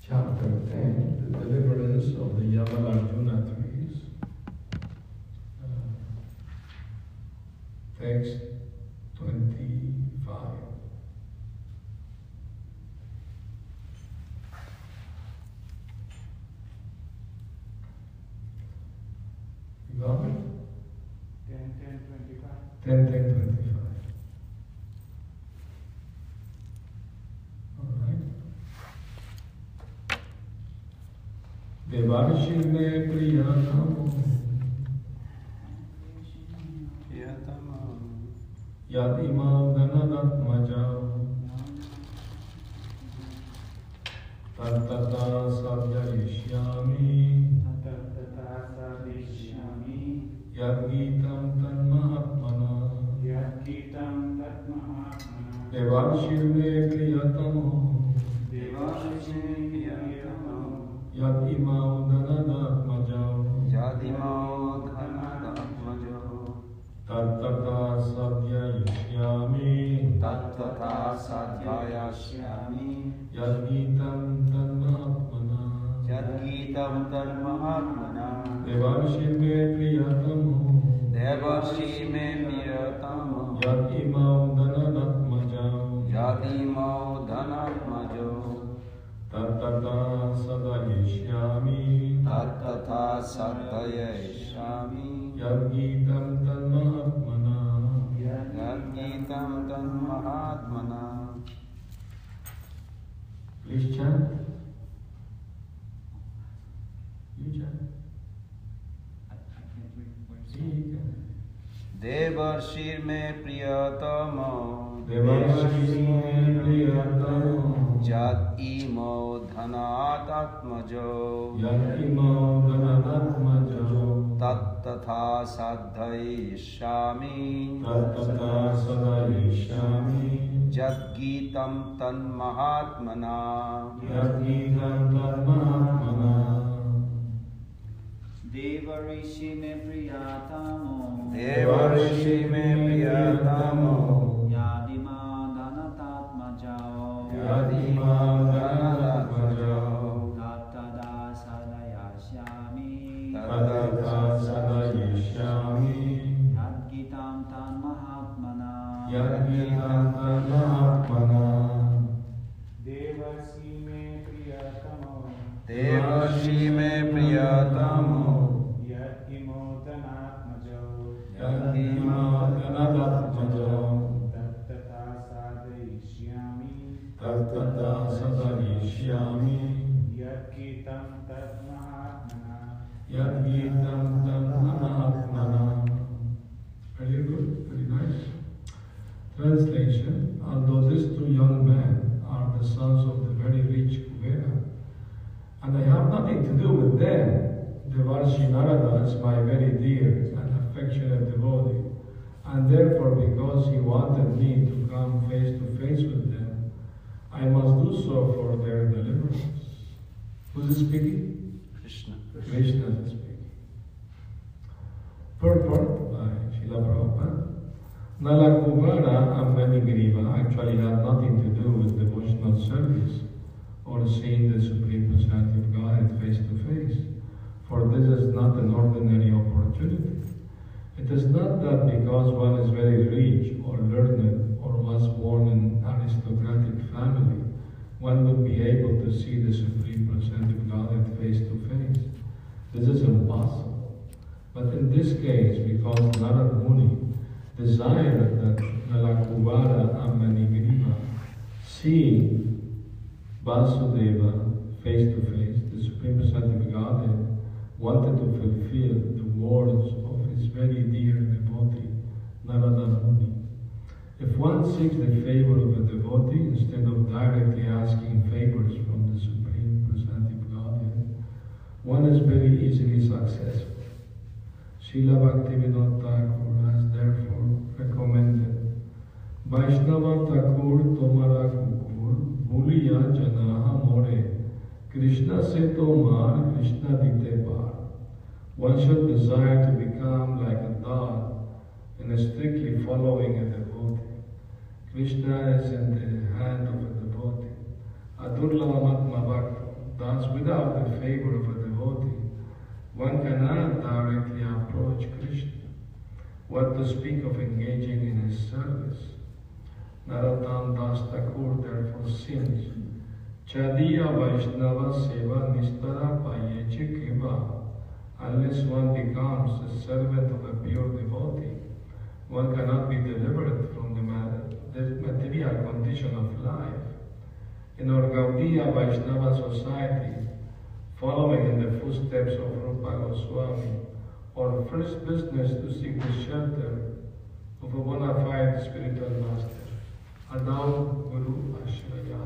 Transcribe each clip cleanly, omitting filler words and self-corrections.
chapter 10, the deliverance of the Yamalarjuna trees. Text 25. You got it? 10:10:25. 10:10:25. देवार्षि में प्रियतमो यदिमां धनरत्मजौ तत्तथा सव्ययिष्यामि यद्गीतं तन्महात्मना देवार्षि में प्रियतमो यदिमां धनरत्मजौ तत्तथा सव्ययिष्यामि यद्गीतं तन्महात्मना देवार्षि में प्रियतमो यदिमां धनरत्मजौ तत्तथा सदयिष्यामि यद्गीतं तन्महात्मना Please chant. You chant. देवर्षि में प्रियतमो यदिमो धनात्मजो तत्तथा साधयिष्यामि यद्गीतं तन्महात्मना देवर्षि में प्रियतमो यदिमां धनरत्मजौ तत्तथा सदयिष्यामि यद्गीतं तन्महात्मना देवर्षि में प्रियतमो यदिमो धनात्मजौ तत्तथा सदयिष्यामि यद्गीतं तन्महात्मना Very good, very nice. Translation: Although these two young men are the sons of the very rich Kuvera, and I have nothing to do with them, Devarshi Narada is my very dear and affectionate devotee, and therefore because he wanted me to come face to face with them, I must do so for their deliverance. Who's speaking? Krishna. Krishna is speaking. Purport by Srila Prabhupada. Nalakuvara and Manigriva actually had nothing to do with devotional service or seeing the Supreme Personality of Godhead face to face, for this is not an ordinary opportunity. It is not that because one is very rich or learned or was born in an aristocratic family, one would be able to see the Supreme Personality of Godhead face to face. This is impossible. But in this case, because Narad Muni desired that Nalakuvara and Manigriva see Vasudeva face to face, the Supreme Personality of Godhead wanted to fulfill the words of his very dear devotee, Narada Muni. If one seeks the favor of a devotee instead of directly asking favors from the Supreme Personality of Godhead, one is very easily successful. Srila Bhaktivinoda Thakur has therefore recommended Vaishnava Thakur Tomara Kukur Bhuliya Janaha More Krishna se Tomar Krishna Dite Par. One should desire to become like a dog and strictly following a devotee. Krishna is in the hand of a devotee. Adurlavamatma Bhakta. Thus, without the favor of a devotee, one cannot directly approach Krishna. What to speak of engaging in his service? Narottam Das Thakur therefore sings, Chadiya Vaishnava Seva Nistara Payeche Kiva. Unless one becomes a servant of a pure devotee, one cannot be delivered from the material condition of life. In our Gaudiya Vaishnava society, following in the footsteps of Rupa Goswami, our first business to seek the shelter of a bona fide spiritual master, Adau Guru Ashraya.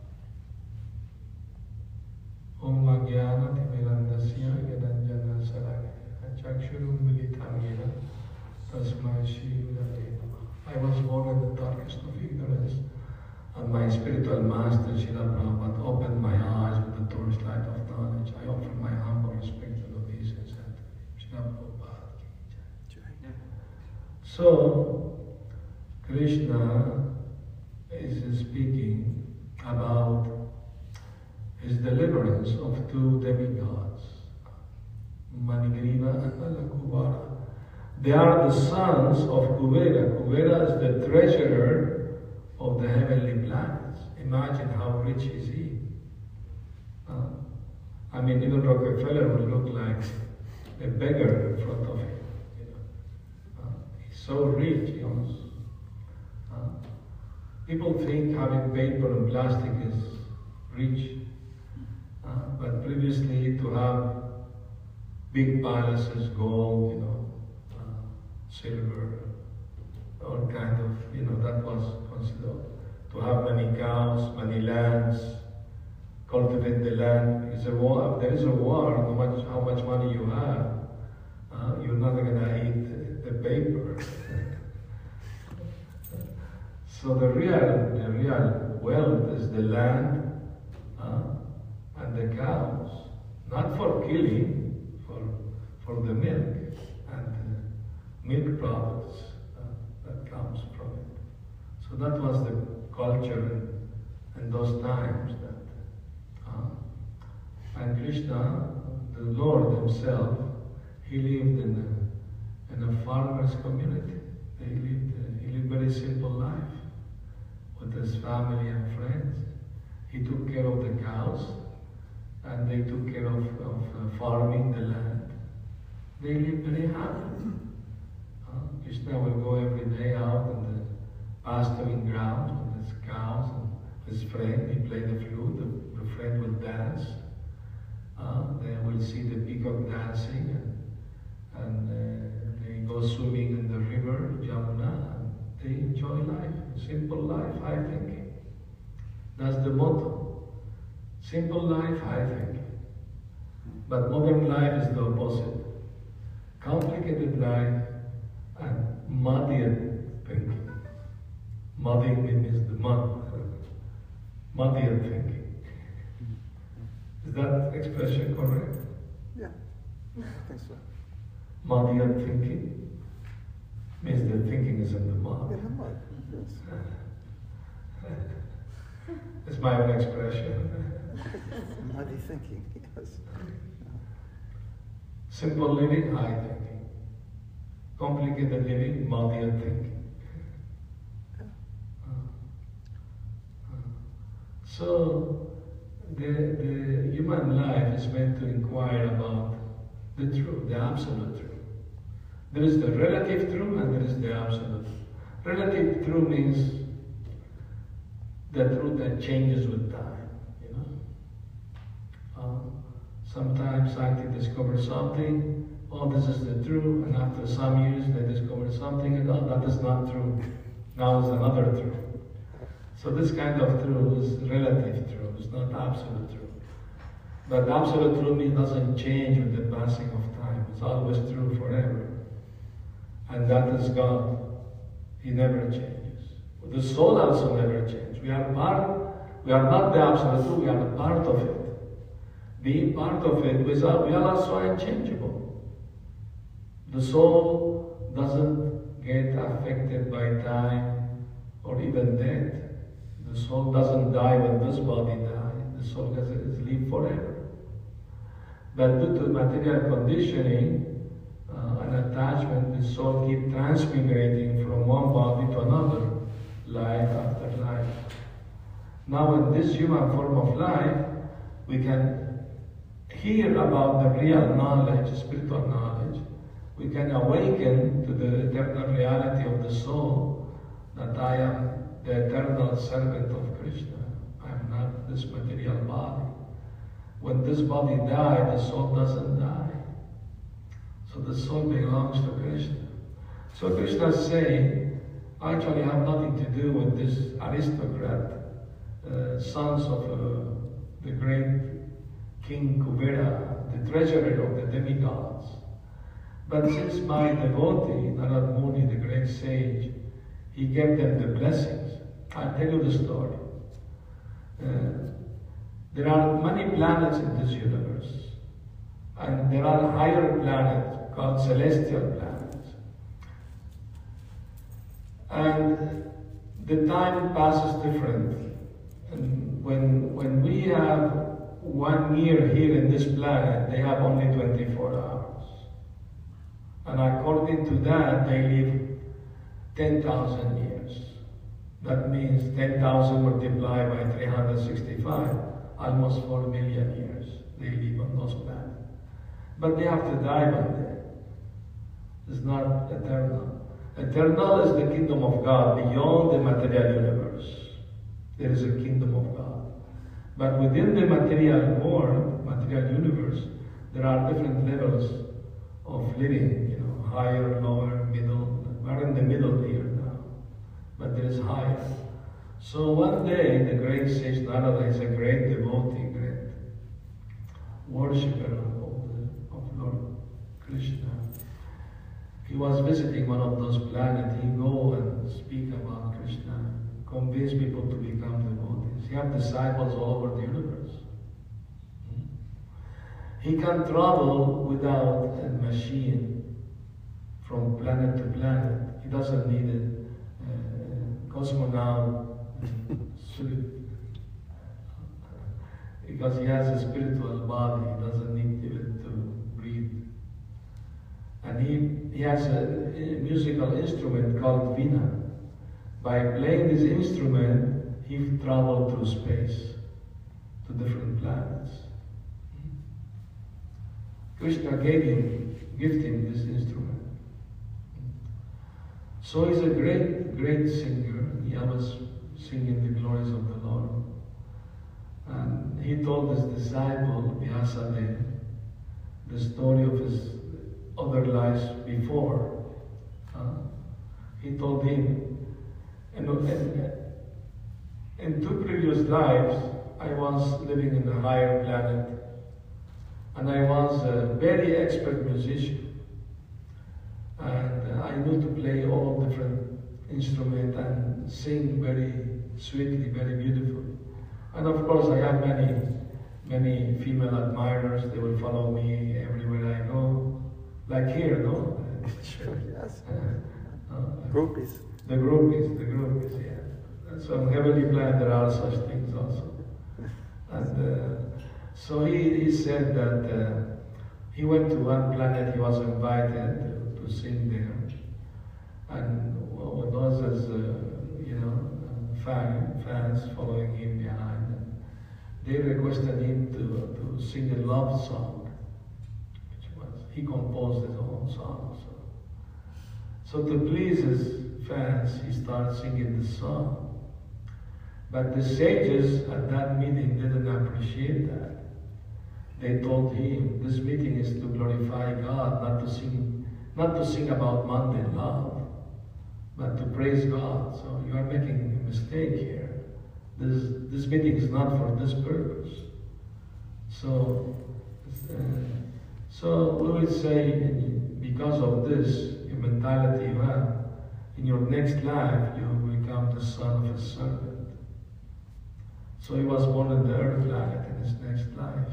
Om Magyana Timirandasya Gadanjana Saragaya Chakshurum Militam Yena Tasmai Shri Gurave Namah. I was born in the darkest of ignorance, and my spiritual master Srila Prabhupada opened my eyes with the torchlight of knowledge. I offer my humble respect and obeisance unto Srila Prabhupada ki jai. So, Krishna is speaking about his deliverance of two demigods, Manigriva and Nalakuvara. They are the sons of Kuvera. Kuvera is the treasurer of the heavenly planets. Imagine how rich is he. I mean, even Rockefeller would look like a beggar in front of him. He's so rich, he owns. People think having paper and plastic is rich. But previously, to have big palaces, gold, silver, all kind of, that was considered. To have many cows, many lands, cultivate the land. Because there is a war, no matter how much money you have, you're not going to eat the paper. So the real wealth is the land and the cows, not for killing, for the milk and milk products that comes from it. So that was the culture in those times. And Krishna, the Lord himself, he lived in a farmer's community. He lived very simple life with his family and friends. He took care of the cows, and they took care of farming the land. They lived very happy. Krishna will go every day out in the pasturing grounds with his cows and his friend. He played the flute, the friend will dance. They will see the peacock dancing, and they go swimming in the river, Jamuna, and they enjoy life, simple life, high thinking. That's the motto. Simple life, high thinking. But modern life is the opposite. Complicated life and muddied thinking. Muddying means the mud. Muddied thinking. Is that expression correct? Yeah, I think so. Muddied thinking means the thinking is in the mud. In the mud, yes. It's my own expression. Muddy thinking, yes. Simple living, high thinking. Complicated living, muddied thinking. So, the human life is meant to inquire about the truth, the absolute truth. There is the relative truth and there is the absolute. Relative truth means the truth that changes with time. Sometimes scientists discover something, this is the truth, and after some years they discover something, and that is not true. Now is another truth. So this kind of truth is relative truth, it's not absolute truth. But absolute truth doesn't change with the passing of time. It's always true forever. And that is God. He never changes. The soul also never changes. We are not the absolute truth, we are a part of it. Being part of it, we are also unchangeable. The soul doesn't get affected by time or even death. The soul doesn't die when this body dies. The soul is live forever. But due to material conditioning and attachment, the soul keeps transmigrating from one body to another, life after life. Now in this human form of life, we can hear about the real knowledge, spiritual knowledge. We can awaken to the eternal reality of the soul, that I am the eternal servant of Krishna. I am not this material body. When this body dies, the soul doesn't die. So the soul belongs to Krishna. So Krishna is saying, actually have nothing to do with this aristocrat, sons of the great King Kubera, the treasurer of the demigods. But since my devotee, Narad Muni, the great sage, he gave them the blessings. I'll tell you the story. There are many planets in this universe, and there are higher planets called celestial planets. And the time passes different. And when we have 1 year here in this planet, they have only 24 hours. And according to that, they live 10,000 years. That means 10,000 multiplied by 365, almost 4 million years they live on those planets. But they have to die one day. It's not eternal. Eternal is the kingdom of God beyond the material universe. There is a kingdom of God. But within the material world, material universe, there are different levels of living, higher, lower, middle. We're in the middle here now, but there is higher. So one day, the great sage Narada is a great devotee, great worshipper of Lord Krishna. He was visiting one of those planets. He go and speak about Krishna, convince people to become devotees. He have disciples all over the universe. He can travel without a machine from planet to planet. He doesn't need a cosmonaut suit because he has a spiritual body. He doesn't need even to breathe. And he has a musical instrument called Veena. By playing this instrument, he traveled through space to different planets. Krishna gifted him this instrument. So he's a great, great singer. He always singing the glories of the Lord. And he told his disciple, Vyasadeva, the story of his other lives before. He told him, in 2 previous lives, I was living in a higher planet, and I was a very expert musician. And I knew to play all different instruments and sing very sweetly, very beautifully. And of course, I have many female admirers. They will follow me everywhere I go, like here, no? Sure, yes. Like Groupies. the groupies, yeah. So on heavenly planet there are such things also. And so he said that he went to one planet. He was invited to sing there, and with others, fans following him behind, and they requested him to sing a love song, which was he composed his own song. So to please his fans, he started singing the song. But the sages at that meeting didn't appreciate that. They told him, this meeting is to glorify God, not to sing about mundane love, but to praise God. So you are making a mistake here. This meeting is not for this purpose. So we will say, because of this mentality you have, in your next life you will become the son of a servant. So he was born in the earth planet in his next life.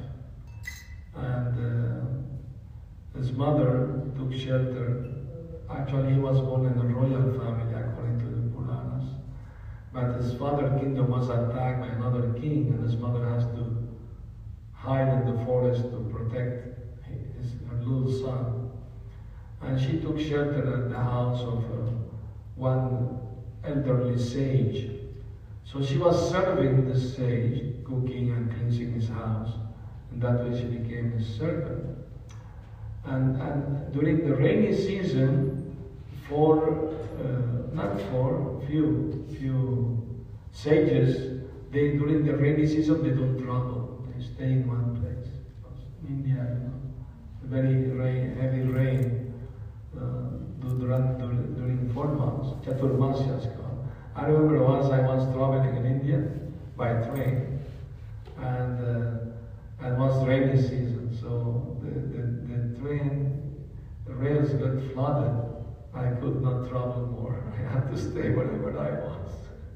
And his mother took shelter. Actually, he was born in a royal family according to the Puranas. But his father's kingdom was attacked by another king, and his mother has to hide forest to protect her little son. And she took shelter at the house of one elderly sage. So she was serving the sage, cooking and cleansing his house. And that way she became his servant. And during the rainy season, few sages, during the rainy season they don't travel. They stay in one place. In India, very heavy rain during 4 months. Chaturmasya is called. I remember I was traveling in India by train, and it was rainy season, so the train, the rails got flooded. I could not travel more. I had to stay wherever I was.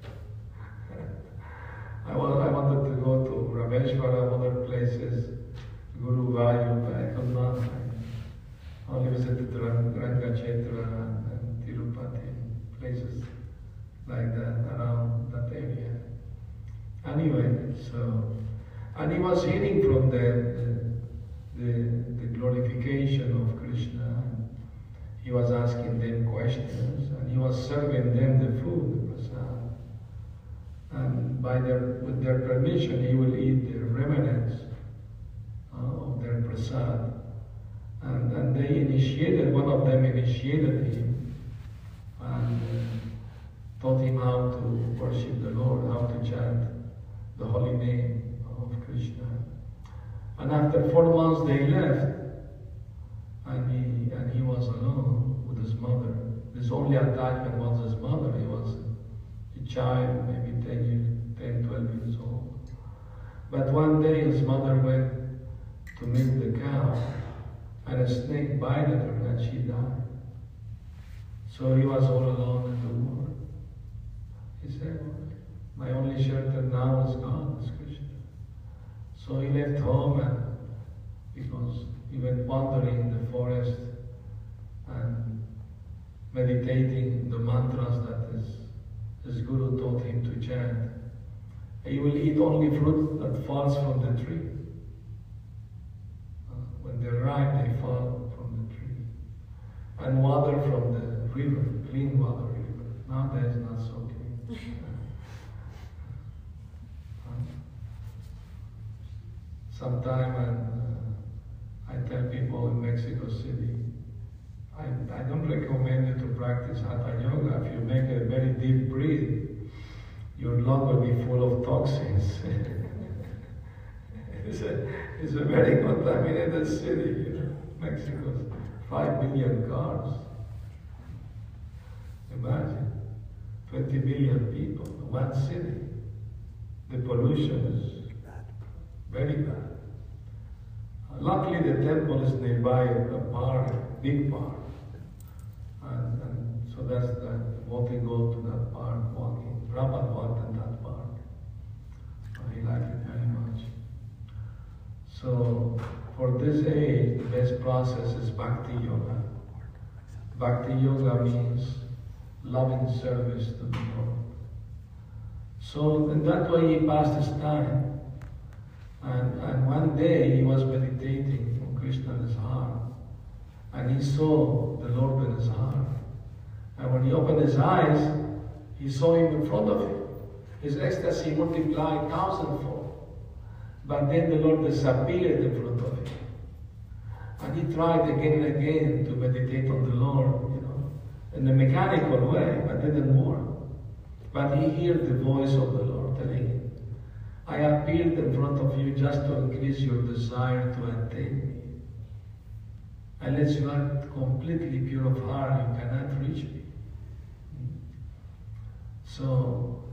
I wanted to go to Rameshwara, other places, Guru Vayu, but I could not. I only visited Rangachetra and Tirupati, places like that, around that area. Anyway, and he was hearing from the glorification of Krishna. He was asking them questions, and he was serving them the food, the prasad. And with their permission, he will eat the remnants of their prasad. And they initiated, one of them initiated him and taught him how to worship the Lord, how to chant the holy name of Krishna. And after 4 months they left, and he was alone with his mother. His only attachment was his mother. He was a child, maybe 10, 12 years old. But one day his mother went to milk the cow, and a snake bited her and she died. So he was all alone in the world. He said, my only shelter now is God, is Krishna. So he left home, and because he went wandering in the forest and meditating the mantras that his guru taught him to chant. He will eat only fruit that falls from the tree. When they're ripe, they fall from the tree. And water from the river, clean water river. Nowadays, not so clean. Sometime I tell people in Mexico City, I don't recommend you to practice Hatha Yoga. If you make a very deep breath, your lung will be full of toxins. It's a very contaminated city, you know. Mexico's 5 billion cars. Imagine, 20 billion people, one city. The pollution is very bad. Luckily, the temple is nearby a park, big park. And so that's the walking go to that park, walking. Prabhupada walked in that park. He liked it very much. So for this age, the best process is Bhakti Yoga. Bhakti Yoga means loving service to the Lord. So in that way he passed his time. And one day he was meditating on Krishna in his heart. And he saw the Lord in his heart. And when he opened his eyes, he saw him in front of him. His ecstasy multiplied 1,000-fold. But then the Lord disappeared in front of him. And he tried again and again to meditate on the Lord, you know, in a mechanical way, but didn't work. But he heard the voice of the Lord telling him, I appeared in front of you just to increase your desire to attain me. Unless you are completely pure of heart, you cannot reach me. So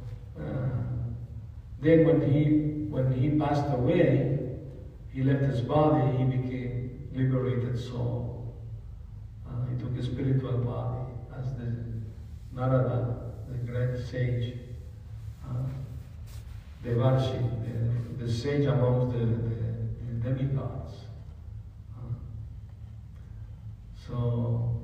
then when he passed away, he left his body, he became liberated soul. He took a spiritual body as the Narada, the great sage, Devarshi, the sage amongst the demigods. So,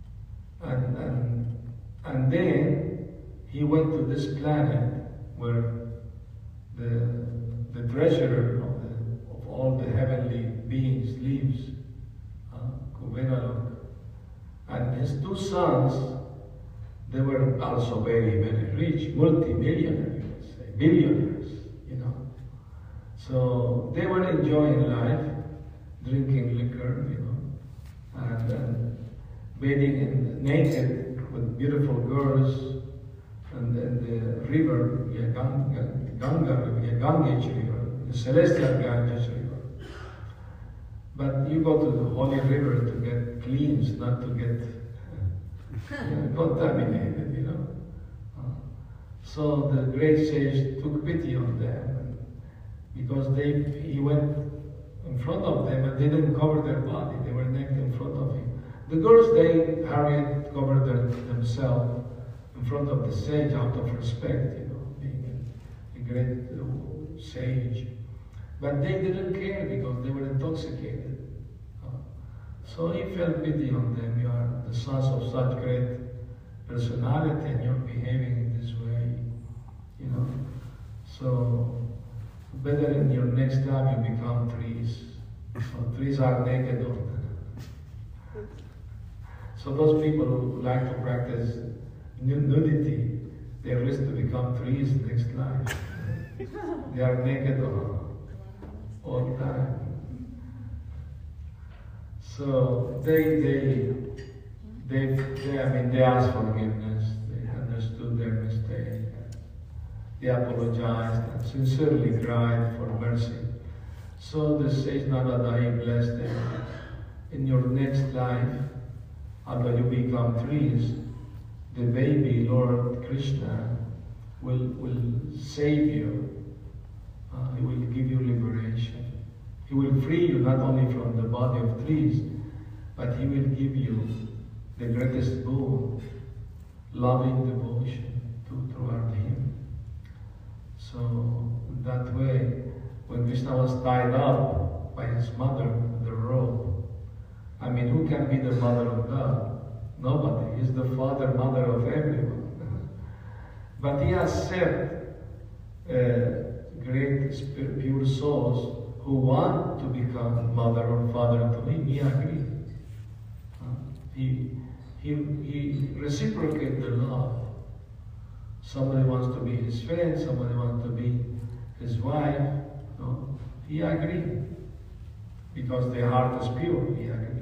and then he went to this planet where the treasurer of all the heavenly beings lives, Kuberalok. And his two sons, they were also very, very rich, multi-millionaires, you would say, billionaires, you know. So they were enjoying life, drinking liquor, you know, and bathing naked with beautiful girls, and then the river, Ganges River, the celestial Ganges River. But you go to the holy river to get cleansed, not to get contaminated, you know. So the great sage took pity on them because he went in front of them and they didn't cover their body. They were naked in front of him. The girls, they hurried, covered themselves in front of the sage out of respect, you know, being a great sage. But they didn't care because they were intoxicated. So he felt pity on them. You are the sons of such great personality and you're behaving in this way, you know. So better in your next life you become trees. So trees are naked all the time. So those people who like to practice nudity, they risk to become trees next life. They are naked all the time. So they asked forgiveness. They understood their mistake. They apologized and sincerely cried for mercy. So the sage Narada blessed them. In your next life, after you become trees, the baby Lord Krishna will save you. He will give you liberation. He will free you not only from the body of trees, but he will give you the greatest boon, loving devotion toward him. So that way, when Krishna was tied up by his mother with the rope, I mean, who can be the mother of God? Nobody. He's the father, mother of everyone. But he has set great pure souls who want to become mother or father to him. He agreed. He reciprocated the love. Somebody wants to be his friend, somebody wants to be his wife. No? He agreed. Because their heart is pure, he agreed.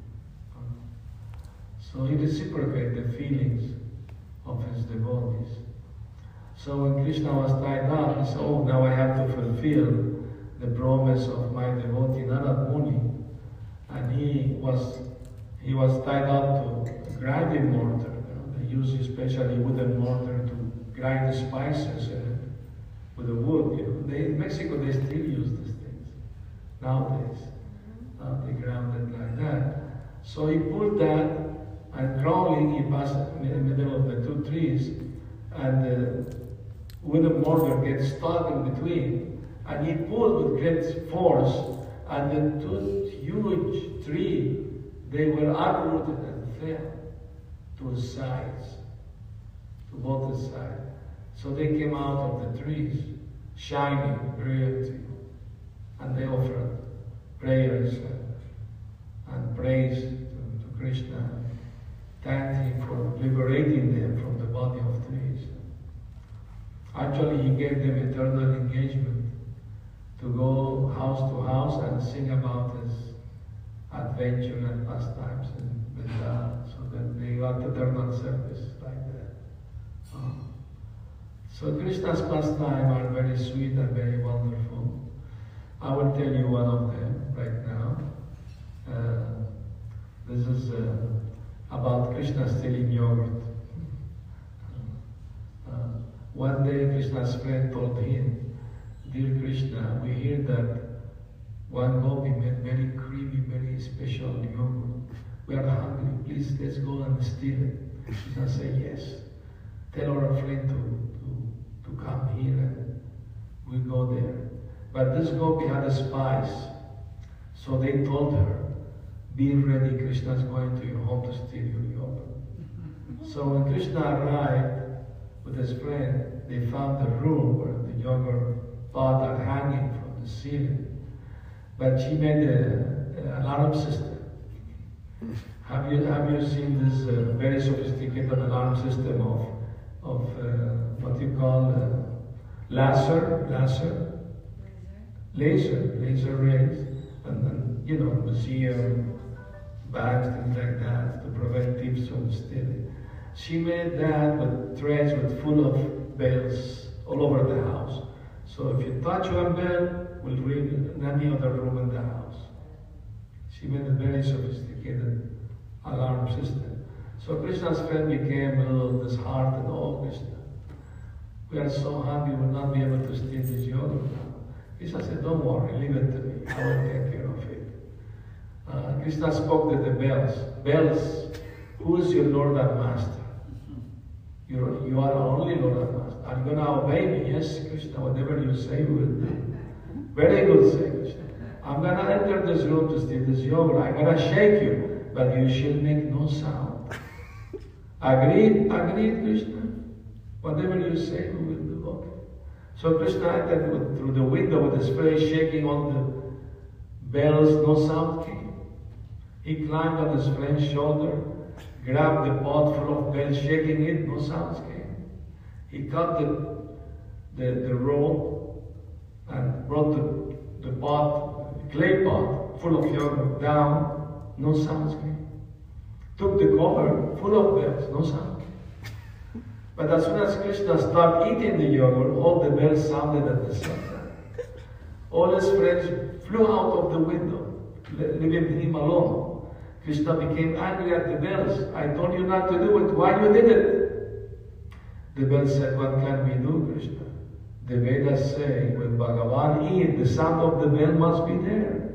So he reciprocated the feelings of his devotees. So when Krishna was tied up, he said, oh, now I have to fulfill the promise of my devotee Narad Muni. And he was tied up to grinding mortar. You know, they use especially wooden mortar to grind the spices with the wood. You know. In Mexico they still use these things nowadays. They ground it like that. So he pulled that, and crawling, he passed in the middle of the two trees, and the wooden mortar gets stuck in between, and he pulled with great force, and the two huge trees, they were uprooted and fell to the sides, to both sides. So they came out of the trees, shining, brilliant, and they offered prayers and praise to Krishna, thanked him for liberating them from the body of trees. Actually, he gave them eternal engagement to go house to house and sing about his adventure and pastimes in Vrindavan, so that they got eternal service like that. So Krishna's pastimes are very sweet and very wonderful. I will tell you one of them right now. This is about Krishna stealing yogurt. One day Krishna's friend told him, dear Krishna, we hear that one gopi made very creamy, very special yogurt. We are hungry, please let's go and steal it. Krishna said, yes. Tell our friend to come here and we go there. But this gopi had spies. So they told her, be ready, Krishna is going to your home to steal your yogurt. So when Krishna arrived with his friend, they found the room where the yogurt pot are hanging from the ceiling. but she made an alarm system. Have you seen this very sophisticated alarm system of what you call laser rays, and you know, museum bags, things like that, to prevent thieves from stealing. She made that with trays full of bells all over the house. So if you touch one bell, it will ring in any other room in the house. She made a very sophisticated alarm system. So Krishna's friend became a little disheartened. Oh, Krishna, we are so happy we'll not be able to steal this yogurt now. Krishna said, don't worry, leave it to me. I will take care of it. Krishna spoke to the bells. Bells, who is your Lord and Master? You are only Lord and Master. Are you going to obey me? Yes, Krishna, whatever you say, we will do. Very good, say Krishna. I'm going to enter this room to steal this yogurt. I'm going to shake you, but you shall make no sound. Agreed? Agreed, Krishna? Whatever you say, we will do. Okay. So Krishna entered through the window with his face shaking on the bells, no sound came. He climbed on his friend's shoulder, grabbed the pot full of bells, shaking it, no sounds came. He cut the rope and brought the pot, clay pot, full of yogurt down, no sounds came. Took the cover full of bells, no sound came. But as soon as Krishna started eating the yogurt, all the bells sounded at the same time. All his friends flew out of the window, leaving him alone. Krishna became angry at the bells. I told you not to do it. Why you did it? The bells said, what can we do, Krishna? The Vedas say, when Bhagavan eats, the sound of the bell must be there.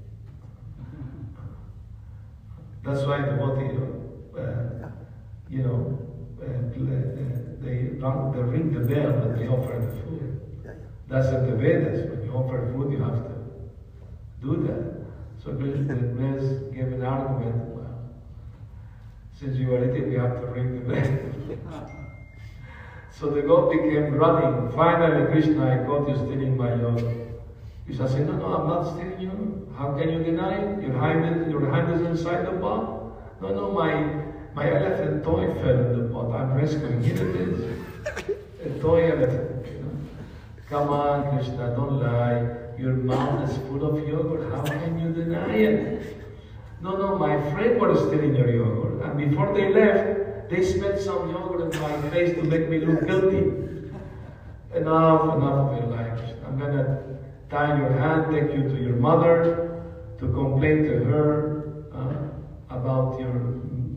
That's why devotee, they ring the bell when they offer the food. That's in the Vedas. When you offer food, you have to do that. So Krishna gave an argument, well, since you are eating, we have to ring the bell. So the goat became running. Finally, Krishna, I caught you stealing my yogurt. Krishna said, no, I'm not stealing you. How can you deny it? Your hand is inside the pot. No, my elephant toy fell in the pot. I'm rescuing. Here it is. A toy elephant. You know? Come on, Krishna, don't lie. Your mouth is full of yogurt. How can you deny it? No, my friend was stealing your yogurt. And before they left, they spilled some yogurt in my face to make me look guilty. Enough of your life. I'm going to tie your hand, take you to your mother, to complain to her about your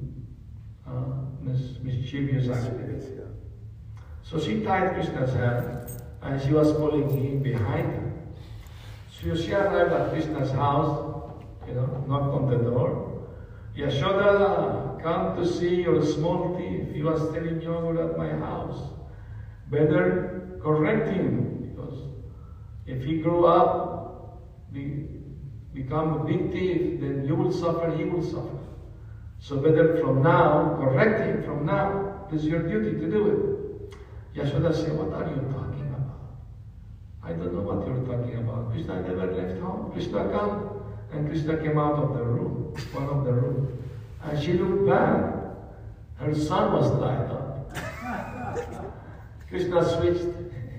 mischievous activities. So she tied Krishna's hand, and she was pulling him behind her. So she arrived at Krishna's house, knocked on the door. Yashoda, come to see your small thief. He was stealing yogurt at my house. Better correct him, because if he grew up, become a big thief, then you will suffer, he will suffer. So better from now, correct him from now. It's your duty to do it. Yashoda said, what are you talking about? I don't know what you're talking about. Krishna never left home. Krishna come. And Krishna came out of the room, one of the rooms. And she looked back. Her son was tied up. Krishna switched.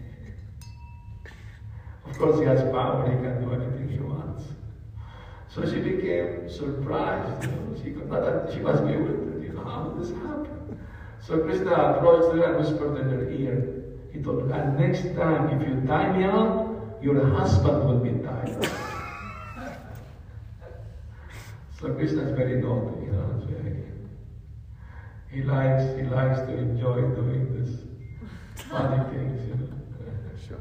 Of course, he has power. He can do anything he wants. So she became surprised. She was bewildered. How did this happen? So Krishna approached her and whispered in her ear. He told her, and next time, if you tie me up, your husband will be tied up. So Krishna is very naughty, he likes to enjoy doing this funny things, Sure.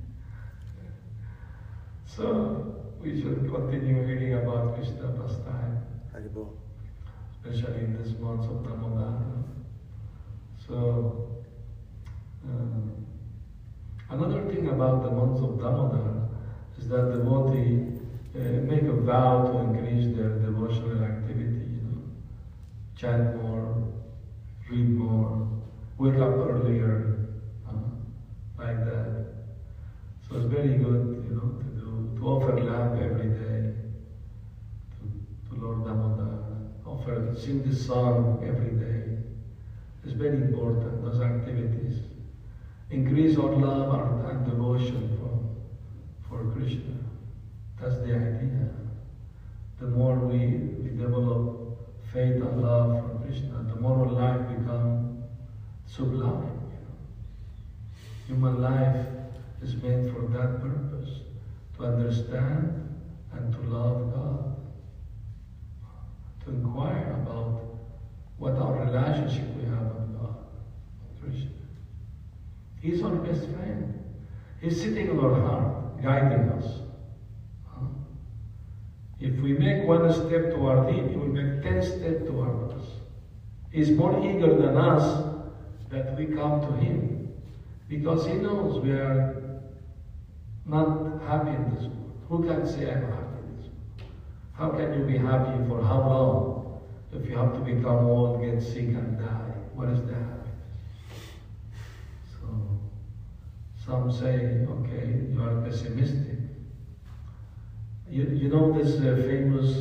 So we should continue reading about Krishna pastime, Haribol. especially in this month of Damodar. So another thing about the month of Damodar is that devotees make a vow to increase their devotional activity, chant more, read more, wake up earlier, like that. So it's very good, to offer lamp every day. sing the song every day. It's very important, those activities. Increase our love and devotion for Krishna. That's the idea. The more we develop faith and love for Krishna, the more our life becomes sublime. Human life is made for that purpose, to understand and to love God, to inquire about what our relationship we have with God, Krishna. He's our best friend. He's sitting in our heart, guiding us. If we make one step toward Him, He will make 10 steps toward us. He's more eager than us that we come to Him, because He knows we are not happy in this world. Who can say I'm happy in this world? How can you be happy for how long if you have to become old, get sick and die? What is the happiness? So, some say, okay, you are pessimistic. You know this famous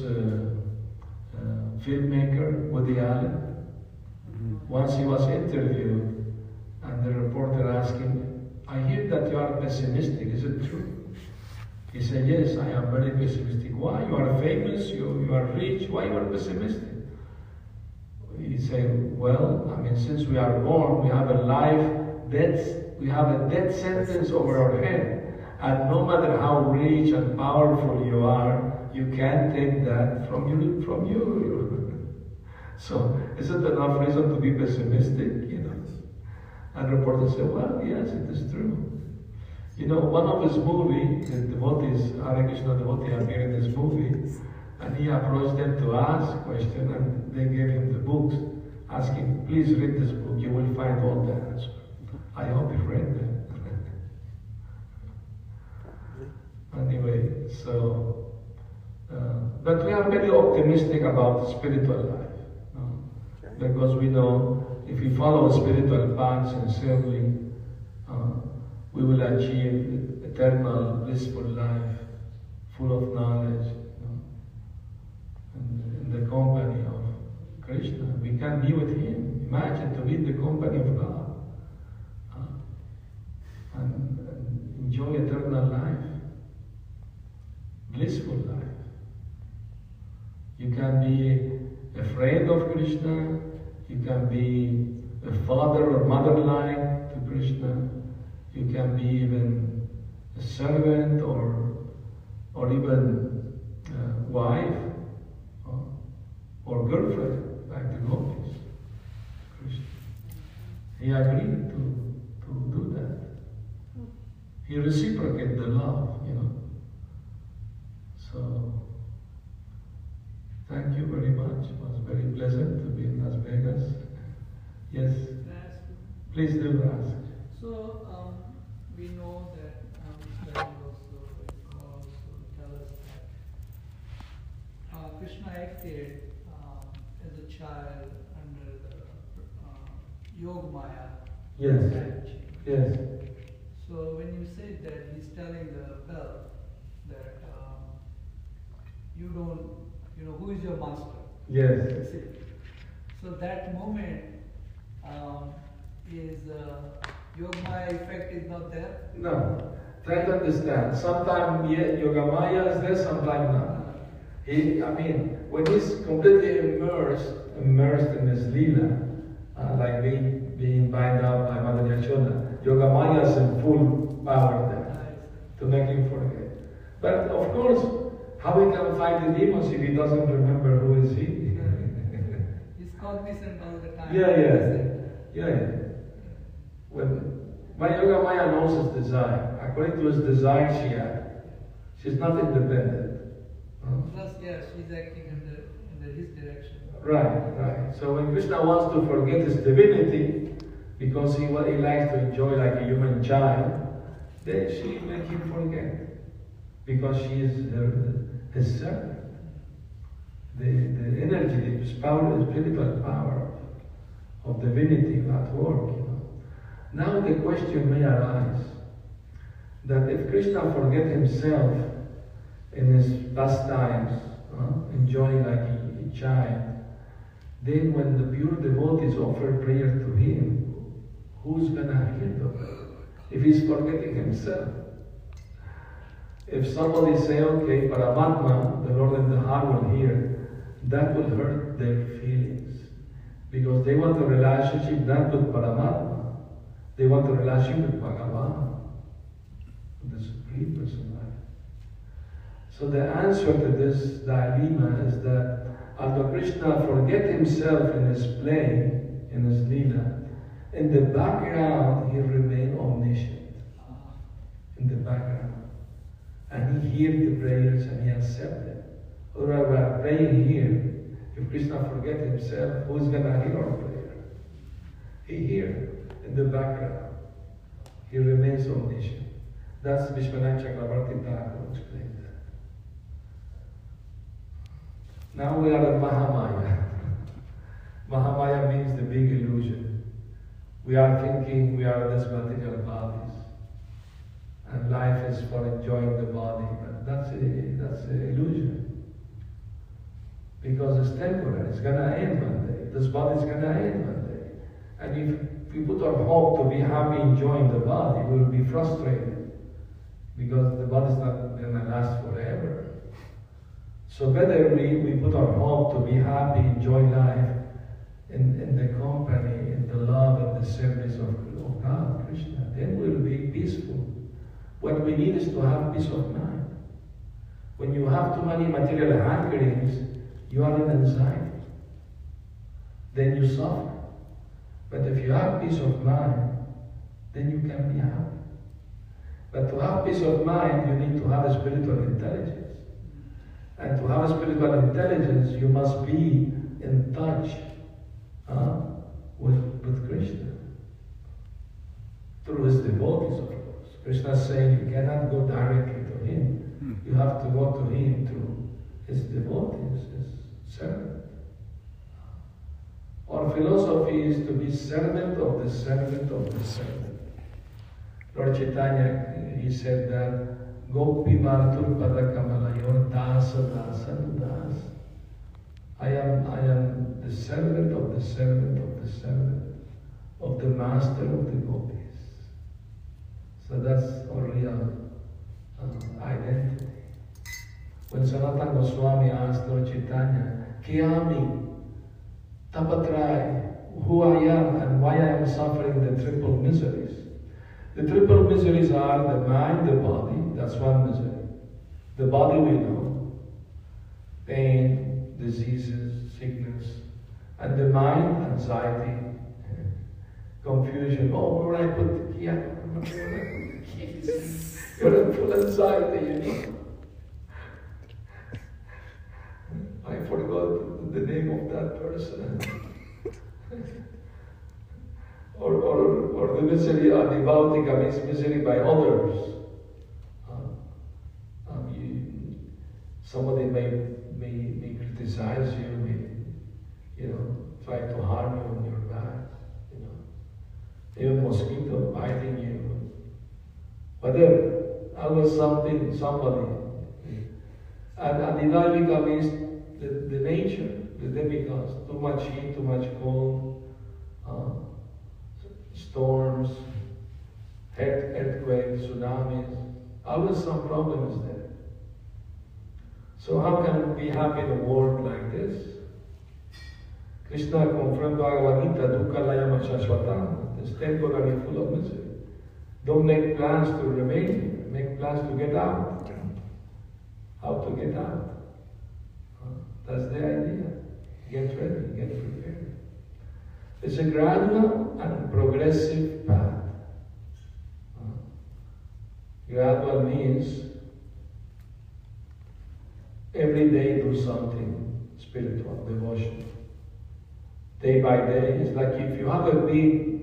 filmmaker, Woody Allen? Once he was interviewed, and the reporter asked him, I hear that you are pessimistic, is it true? He said, yes, I am very pessimistic. Why? You are famous, you are rich, why you are pessimistic? He said, well, I mean, since we are born, we have we have a death sentence over our head. And no matter how rich and powerful you are, you can't take that from you. So, is it enough reason to be pessimistic? And the reporter said, well, yes, it is true. One of his movies, the devotees, Hare Krishna devotee appeared in this movie, and he approached them to ask a question, and they gave him the books, asking, please read this book, you will find all the answers. I hope he read them. Anyway, so, but we are very optimistic about the spiritual life, because we know if we follow a spiritual path sincerely, we will achieve eternal blissful life, full of knowledge, and in the company of Krishna. We can be with Him. Imagine to be in the company of God and enjoy eternal life. Blissful life. You can be a friend of Krishna, you can be a father or mother-like to Krishna, you can be even a servant or even wife or girlfriend, like the gopis. Krishna. He agreed to do that. He reciprocated the love, So, thank you very much. It was very pleasant to be in Las Vegas. Yes? Please do ask. So, we know that study also tell us that Krishna acted as a child under the Yoga Maya Yes. strategy. Yes. So when you say that he's telling the bell that you don't, who is your master? Yes. So that moment is Yogamaya effect is not there? No. Try to understand. Sometimes Yogamaya is there, sometimes not. When he's completely immersed in his lila, like being bound up by Mother Yashoda, Yogamaya is in full power there to make him forget. But of course, how he can fight the demons if he doesn't remember who is he? He's cognizant all the time. Yeah. When Yogamaya knows his desire, according to his desire she acts. She's not independent. Plus, she's acting under his direction. Right. So when Krishna wants to forget his divinity, because he likes to enjoy like a human child, then she makes him forget. Because she is his servant. The energy, the spiritual power of divinity at work. Now the question may arise that if Krishna forget himself in his pastimes, enjoying like a child, then when the pure devotees offer prayer to him, who's gonna hear them? If he's forgetting himself. If somebody say, okay, Paramatma, the Lord in the heart will hear, that will hurt their feelings. Because they want a relationship not with Paramatma, they want a relationship with Bhagavan, the Supreme Personality. So the answer to this dilemma is that although Krishna forget himself in his play, in his lila, in the background he remain omniscient. In the background. And he hears the prayers and he accepts them. Otherwise we are praying here. If Krishna forget himself, who's going to hear our prayer? He hears in the background. He remains omniscient. That's Vishwanath Chakravarti Thakur explained that. Now we are at Mahamaya. Mahamaya means the big illusion. We are thinking we are these material bodies. And life is for enjoying the body, but that's an illusion. Because it's temporary, it's gonna end one day. This body is gonna end one day. And if we put our hope to be happy enjoying the body, we will be frustrated. Because the body is not gonna last forever. So better we put our hope to be happy, enjoy life in the company, in the love and the service of God, Krishna. Then we'll be peaceful. What we need is to have peace of mind. When you have too many material hankerings, you are in anxiety. Then you suffer. But if you have peace of mind, then you can be happy. But to have peace of mind, you need to have a spiritual intelligence. And to have a spiritual intelligence, you must be in touch with Krishna. Through his devotees, of course. Krishna is saying you cannot go directly to him. You have to go to him through his devotees, his servant. Our philosophy is to be servant of the servant of the servant. Lord Chaitanya, he said that Gopi Bhartur Pada Kamalayor Dasa Dasa Das. I am the servant of the servant of the servant of the master of the gopis. So that's our real identity. When Sanatana Goswami asked Lord Chaitanya, Kiyami, Tapatrai, who I am and why I am suffering the triple miseries. The triple miseries are the mind, the body, that's one misery. The body we know, pain, diseases, sickness, and the mind, anxiety, confusion. Oh, where I put the key? You're in full anxiety, you know. I forgot the name of that person. or the misery adivautika means misery by others. Somebody may criticize you, may try to harm you on your back, even mosquito biting you, whatever. Always somebody. And adivautika means the nature, the demigods, too much heat, too much cold, storms, earthquakes, tsunamis, always some problems there. So how can we be happy in a world like this? Krishna confirmed Bhagavad Gita, dukkha layam shashvatam, it's temporary, full of misery. Don't make plans to remain here, make plans to get out. How to get out? That's the idea. Get ready, get prepared. It's a gradual and progressive path. Gradual means every day do something spiritual, devotion. Day by day, it's like if you have a big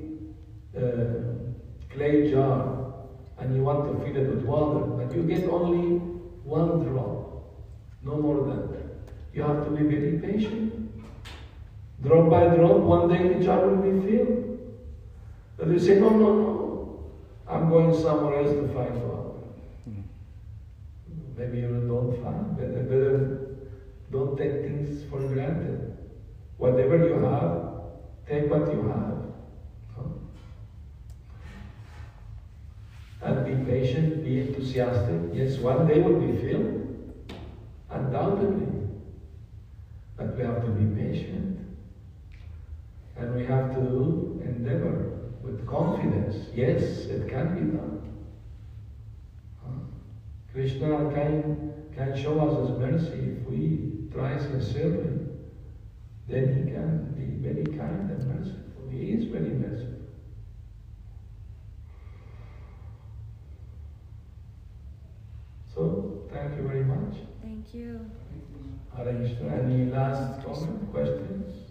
clay jar and you want to fill it with water, but you get only one drop, no more than that. You have to be very patient. Drop by drop, one day the jar will be filled. But you say, no, I'm going somewhere else to find water. Maybe you don't find, better don't take things for granted. whatever you have, take what you have. No? And be patient, be enthusiastic. Yes, one day will be filled, undoubtedly. But we have to be patient. And we have to endeavor with confidence. Yes, it can be done. Krishna can show us His mercy if we try sincerely. Then He can be very kind and merciful. He is very merciful. So, thank you very much. Thank you. Hare Krishna. Any last comment, questions?